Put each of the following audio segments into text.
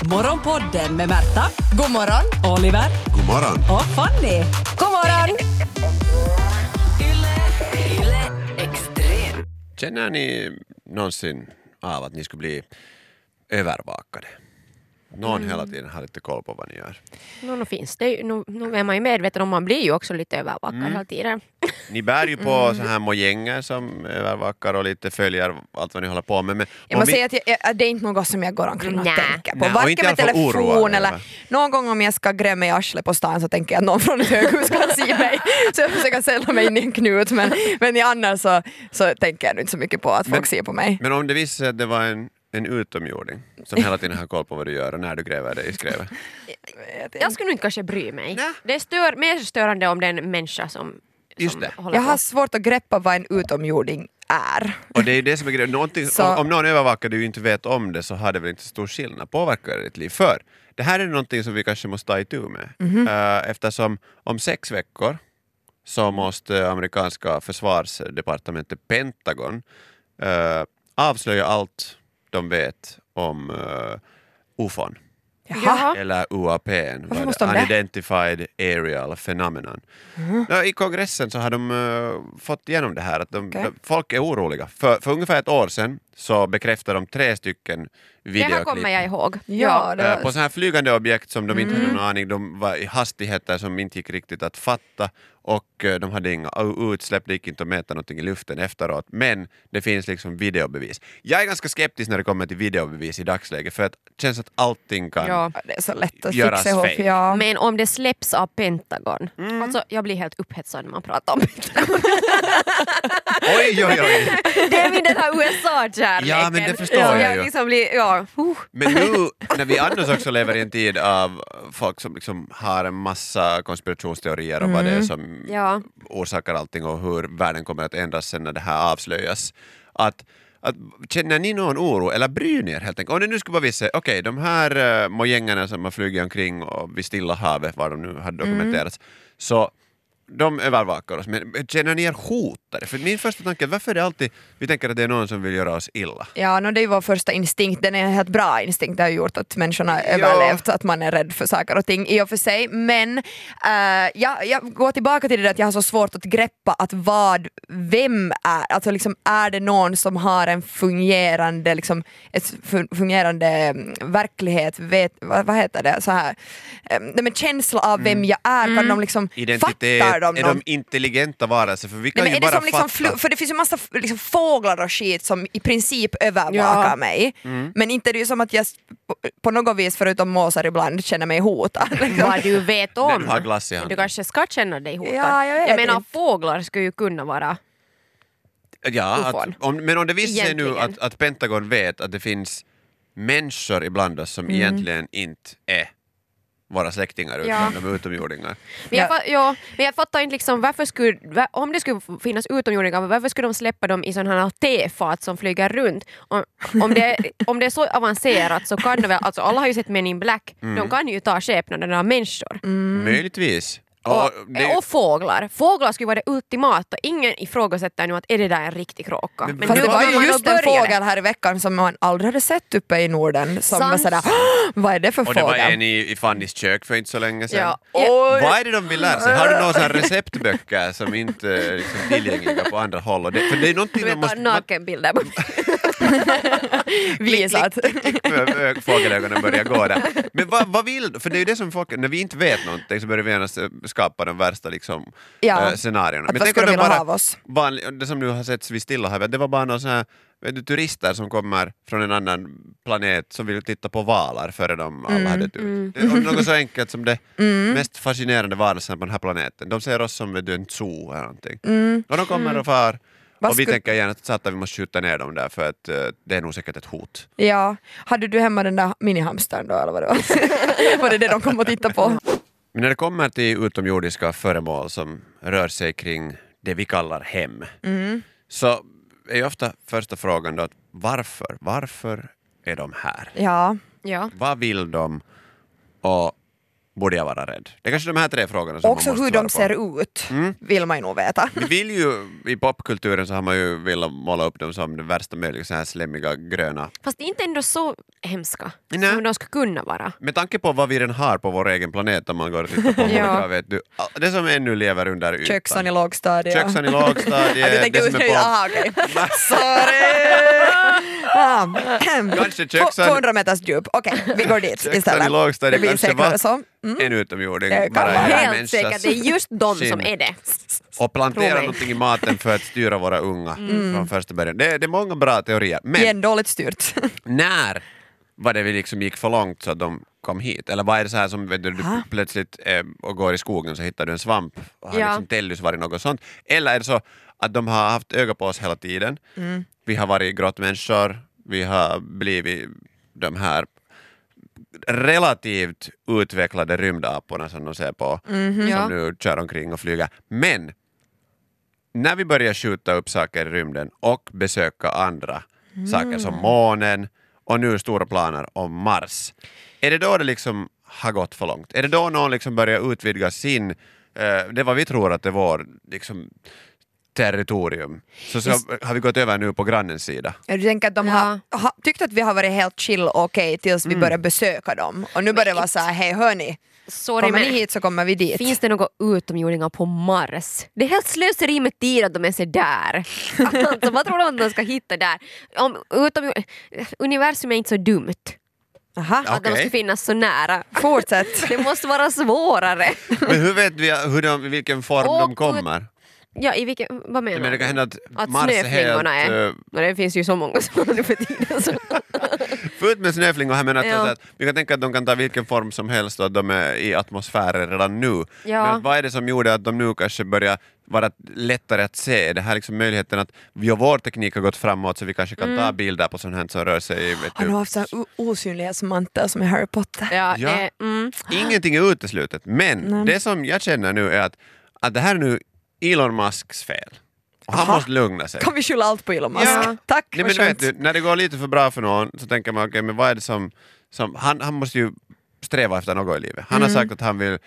Morgonpodden med Märta, God morgon. Oliver God morgon. och Fanny. God morgon. Känner ni någonsin av att ni skulle bli övervakade? Någon hela tiden har lite koll på vad ni gör. Nu finns det ju, nu är man ju medveten om, man blir ju också lite övervakad hela tiden. Ni bär ju på så här mojänger som övervakar och lite följer allt vad ni håller på med. Men Jag måste säga att det är inte något som jag går omkring och Nej. tänker på. Nej, och Varken inte i med alla fall telefon oroad eller över. någon gång om jag ska gräva mig i arslet på stan så tänker jag att någon från ett höghus kan se mig. Så jag försöker sälja mig in i en knut. Men i annars så tänker jag inte så mycket på att folk ser på mig. Men om det visar sig att det var en utomjording som hela tiden har koll på vad du gör och när du gräver dig i skrävet. Jag skulle nog inte kanske bry mig. Nej. Det är mer störande om det är en människa som Just det. håller Jag på. har svårt att greppa vad en utomjording är. Och det är det som är grejen. Så- Om någon övervakar du inte vet om det så har det väl inte stor skillnad. Påverkar det ditt liv? För det här är någonting som vi kanske måste ta itu med. Eftersom om 6 veckor så måste amerikanska försvarsdepartementet Pentagon avslöja allt de vet om UFOn. Jaha. Eller UAP, Varför måste de det? Unidentified Aerial Phenomenon. Ja, i kongressen så har de fått igenom det här att Okej. folk är oroliga. För ungefär ett år sedan så bekräftade de 3 stycken Det här kommer videoklipp jag ihåg. Ja, det på så här flygande objekt som de inte hade någon aning, de var i hastigheter som inte gick riktigt att fatta och de hade inga utsläpp, det gick inte att mäta någonting i luften efteråt, men det finns liksom videobevis. Jag är ganska skeptisk när det kommer till videobevis i dagsläget för att det känns att allting kan Ja. Det är så lätt att Göras fixa ihop. fake. Ja. Men om det släpps av Pentagon. Alltså jag blir helt upphetsad när man pratar om Pentagon. Oj, oj, oj. Det är min den här USA-kärleken. Ja, men det förstår jag jag ju. liksom blir, Men nu när vi annars också lever i en tid av folk som liksom har en massa konspirationsteorier om vad det är som Ja. orsakar allting och hur världen kommer att ändras sen när det här avslöjas. Att känner ni någon oro eller bryr ni er helt enkelt? Om det nu skulle vara vissa, okej, de här mojängerna som har flugit omkring och vid Stilla havet, var de nu har dokumenterats, så de övervakar oss, men känner ni er hotade? För min första tanke är varför är det alltid vi tänker att det är någon som vill göra oss illa? Ja, det är ju vår första instinkt. Den är en helt bra instinkt. Det har gjort att människorna har överlevt, att man är rädd för saker och ting i och för sig. Men jag går tillbaka till det där att jag har så svårt att greppa att vem är. Alltså liksom, är det någon som har en fungerande, liksom, fungerande verklighet, vad heter det? Så här, med känsla av vem jag är. Kan de liksom Identitet, fattar de är någon? de intelligenta varelser? För vi kan Nej, men ju är det bara som liksom fatta. för det finns ju massa liksom fåglar och skit som i princip övervakar mig. Men inte är det ju som att jag på något vis förutom måsar ibland känner mig hotad. Liksom. vad du vet När om. du har glass i Du handen. kanske ska känna dig hotad. Ja, jag vet menar, inte. fåglar skulle ju kunna vara... Ja, UFOn. men om det visar sig nu Egentligen. att Pentagon vet att det finns människor ibland oss som egentligen inte är våra släktingar utan de är utomjordingar. Men men jag fattar inte liksom, om det skulle finnas utomjordingar, varför skulle de släppa dem i sådana här tefat som flyger runt? Om det är så avancerat så kan de väl, alltså alla har ju sett Men in Black, de kan ju ta skepnaden av människor. Möjligtvis. Och fåglar. Fåglar skulle vara det ultimata. Ingen ifrågasätter nu att är det där en riktig kråka. Men Fast nu det var kommer ju man just att en börja fågel här i veckan som man aldrig hade sett uppe i Norden som var Sant. sådär, vad är det för Och det var fågel? en i Fannys kök för inte så länge sedan. Ja. Vad är det de vill lära sig? Har du några sådana receptböcker som inte är liksom tillgängliga på andra håll? Och för det är någonting Du man vet, ta måste... nakenbilder. Visat. Fågelögonen börjar gå där. Men vad vill... För det är ju det som folk... När vi inte vet någonting så börjar vi gärna skapa de värsta liksom, scenarierna. Att vad skulle de vilja ha av oss? Det som nu har setts vid Stilla havet, det var bara någon sån här turister som kommer från en annan planet som vill titta på valar före de alla hade dött. Det är något så enkelt som det mest fascinerande varelsen på den här planeten. De ser oss som en zoo eller någonting. Och de kommer och far. Och vi tänker gärna att vi måste skjuta ner dem där för att det är nog säkert ett hot. Ja. Hade du hemma den där minihamstern då eller vad det var? Var det de kom att titta på? Men när det kommer till utomjordiska föremål som rör sig kring det vi kallar hem så är ju ofta första frågan då att varför är de här? Ja. Ja. Vad vill de och borde jag vara rädd? Det är kanske de här 3 frågorna som Också man måste hur de svara ser ut vill man ju nog veta. Vi vill ju, i popkulturen så har man ju velat måla upp dem som det värsta möjliga, så här slemmiga gröna. Fast inte ändå så hemska Nej. som de skulle kunna vara. Med tanke på vad vi redan har på vår egen planet om man går och tittar på olika, vet du, det som ännu lever under ytan. Köksan i lågstadiet. Köksan i lågstadiet. Du tänkte det som är ut, på... aha okej. Sorry! Kanske köksan... 200 meters djup. Okej, vi går dit Köksan istället. i lågstadiet Det blir kanske säkrare var så. en utomjording. Det kan bara vara i en Helt människas säkert, det är just de som skinn. är det. Och Tro plantera mig. någonting i maten för att styra våra unga från första början. Det är många bra teorier. Men Igen dåligt styrt. när var det vi liksom gick för långt så att de kom hit? Eller vad är det så här som vet du plötsligt och går i skogen så hittar du en svamp och har Ja. liksom Tellus varit något sånt? Eller är det så att de har haft öga på oss hela tiden? Vi har varit grottmänniskor, vi har blivit de här relativt utvecklade rymdaporna som de ser på, Ja. som nu kör omkring och flyger. Men när vi börjar skjuta upp saker i rymden och besöka andra saker som månen och nu stora planer om Mars, är det då det liksom har gått för långt? Är det då någon liksom börjar utvidga sin, det vad vi tror att det var liksom territorium, så har vi gått över nu på grannens sida. Du tänker att de har tyckt att vi har varit helt chill och okej tills vi börjar besöka dem. Och nu börjar det vara så här, hej hörni, Sorry, kommer men ni hit så kommer vi dit. finns det några utomjordingar på Mars? Det är helt slöseri med tid att de är så där. Alltså, vad tror de att de ska hitta där? Universum är inte så dumt. Aha. Att de ska finnas så nära. Fortsätt. Det måste vara svårare. Men hur vet vi i vilken form de kommer? Ja, i vilken, vad menar Men det du? kan hända att Mars snöflingorna är helt... är... Men det finns ju så många som nu för tiden. Så. Fullt med snöflingor här, men Ja. att vi kan tänka att de kan ta vilken form som helst och att de är i atmosfären redan nu. Ja. Men vad är det som gjorde att de nu kanske börjar vara lättare att se? Det här liksom möjligheten att vår teknik har gått framåt så vi kanske kan ta bilder på sånt här som rör sig. Vet Har du. du haft så här osynlighetsmantel som i Harry Potter? Ja, Ja. det, Ingenting är uteslutet, men det som jag känner nu är att det här är nu Elon Musks fel. Och han Aha. måste lugna sig. Kan vi skylla allt på Elon Musk? Ja. Tack, Nej, vad men vet skönt. du, när det går lite för bra för någon så tänker man okej, men vad är det som han måste ju sträva efter något i livet. Han har sagt att han vill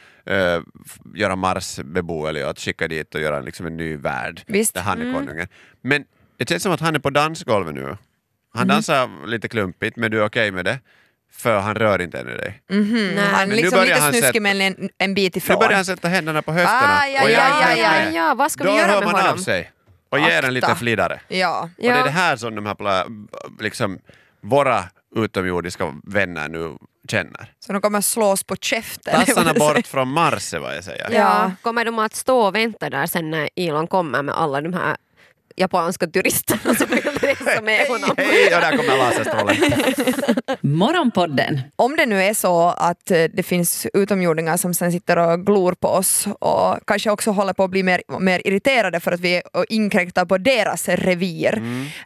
göra Mars beboelig och att skicka dit och göra liksom en ny värld Visst. där han är konungen. Men det känns som att han är på dansgolvet nu. Han dansar lite klumpigt, men du är okej med det? För han rör inte ännu dig. Han Men nu liksom börjar lite han snuskig sätta- men en bit Nu ifrån. börjar han sätta händerna på höfterna. Ja, och jag är ja, helt ja, med. ja, vad ska Då vi göra hör med man honom? av sig och ger en liten Akta. flidare. Ja. Och det är det här som de här liksom, våra utomjordiska vänner nu känner. Så de kommer slås på käften. Tassarna bort från Mars är vad jag säger. Ja, kommer de att stå och vänta där sen när Elon kommer med alla de här japanska turisterna som vill resa med honom? Hej, och där kommer laserstrålen. Morgonpodden. Om det nu är så att det finns utomjordingar som sen sitter och glor på oss och kanske också håller på att bli mer irriterade för att vi inkräktar på deras revir.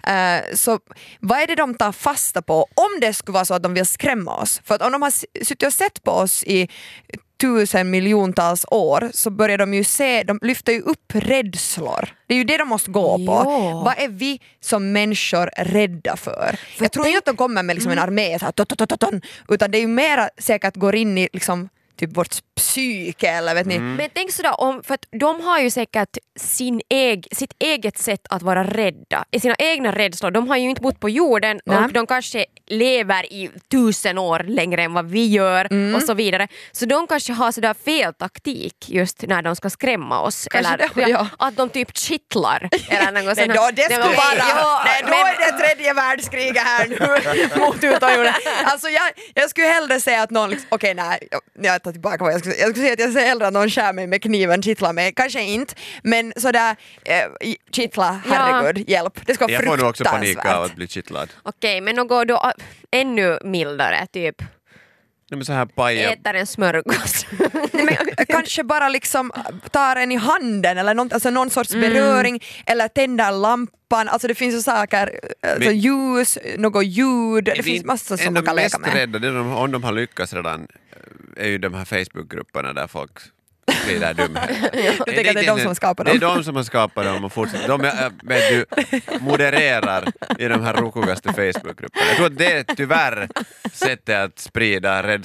Så vad är det de tar fasta på om det skulle vara så att de vill skrämma oss? För att om de har suttit och sett på oss i 1000 miljontals år så börjar de ju se, de lyfter ju upp rädslor. Det är ju det de måste gå på. Ja. Vad är vi som människor rädda för? Jag tror inte att de kommer med liksom en armé så här, utan det är ju mera säkert går in i liksom typ vårt psyke eller vet ni. Men tänk sådär, för att de har ju säkert sitt eget sätt att vara rädda. I sina egna rädslor. De har ju inte bott på jorden och de kanske lever i 1000 år längre än vad vi gör och så vidare. Så de kanske har sådär fel taktik just när de ska skrämma oss. Kanske Eller det, ja. att de typ kittlar. Eller något Nej, sånt. då, det skulle vara, nej, då men- är det tredje världskriget här nu mot utomjorden. Alltså jag skulle hellre säga att någon liksom, okej, nej, jag tar tillbaka vad jag skulle säga att jag säger hellre att någon skär mig med kniven, kittlar mig, kanske inte, men sådär kittla, herregud, hjälp, det ska vara Jag får nog också panik fruktansvärt. av att bli kittlad. Okej, men något då ännu mildare, typ Nej, men så här paja. äter en smörgås. Nej, men, kanske bara liksom tar en i handen eller någon sorts beröring eller tänder lampan, alltså det finns ju saker, alltså ljus, något ljud, det finns massor som man kan leka med. Rädda, det är om de har lyckats redan är ju de här Facebookgrupperna där folk sprider dumheter. Du tänker att det är de som skapar dem? Det är de som har skapat dem och fortsätter. De vet du, modererar i de här rokigaste Facebookgrupperna. Jag tror att det är tyvärr sättet att sprida rädsla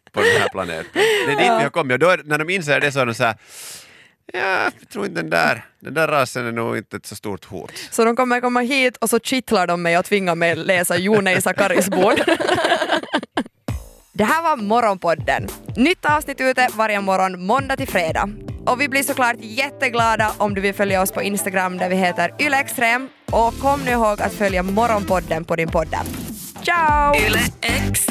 på den här planeten. Det är dit vi har kommit. Och då när de inser det så är de så här, jag tror inte den där rasen är nog inte ett så stort hot. Så de kommer komma hit och så kittlar de mig och tvingar mig läsa Jonei Sakaris bord. Det här var Morgonpodden. Nytt avsnitt ute varje morgon måndag till fredag. Och vi blir såklart jätteglada om du vill följa oss på Instagram där vi heter YleExtrem. Och kom nu ihåg att följa Morgonpodden på din podd. Ciao! Yle X.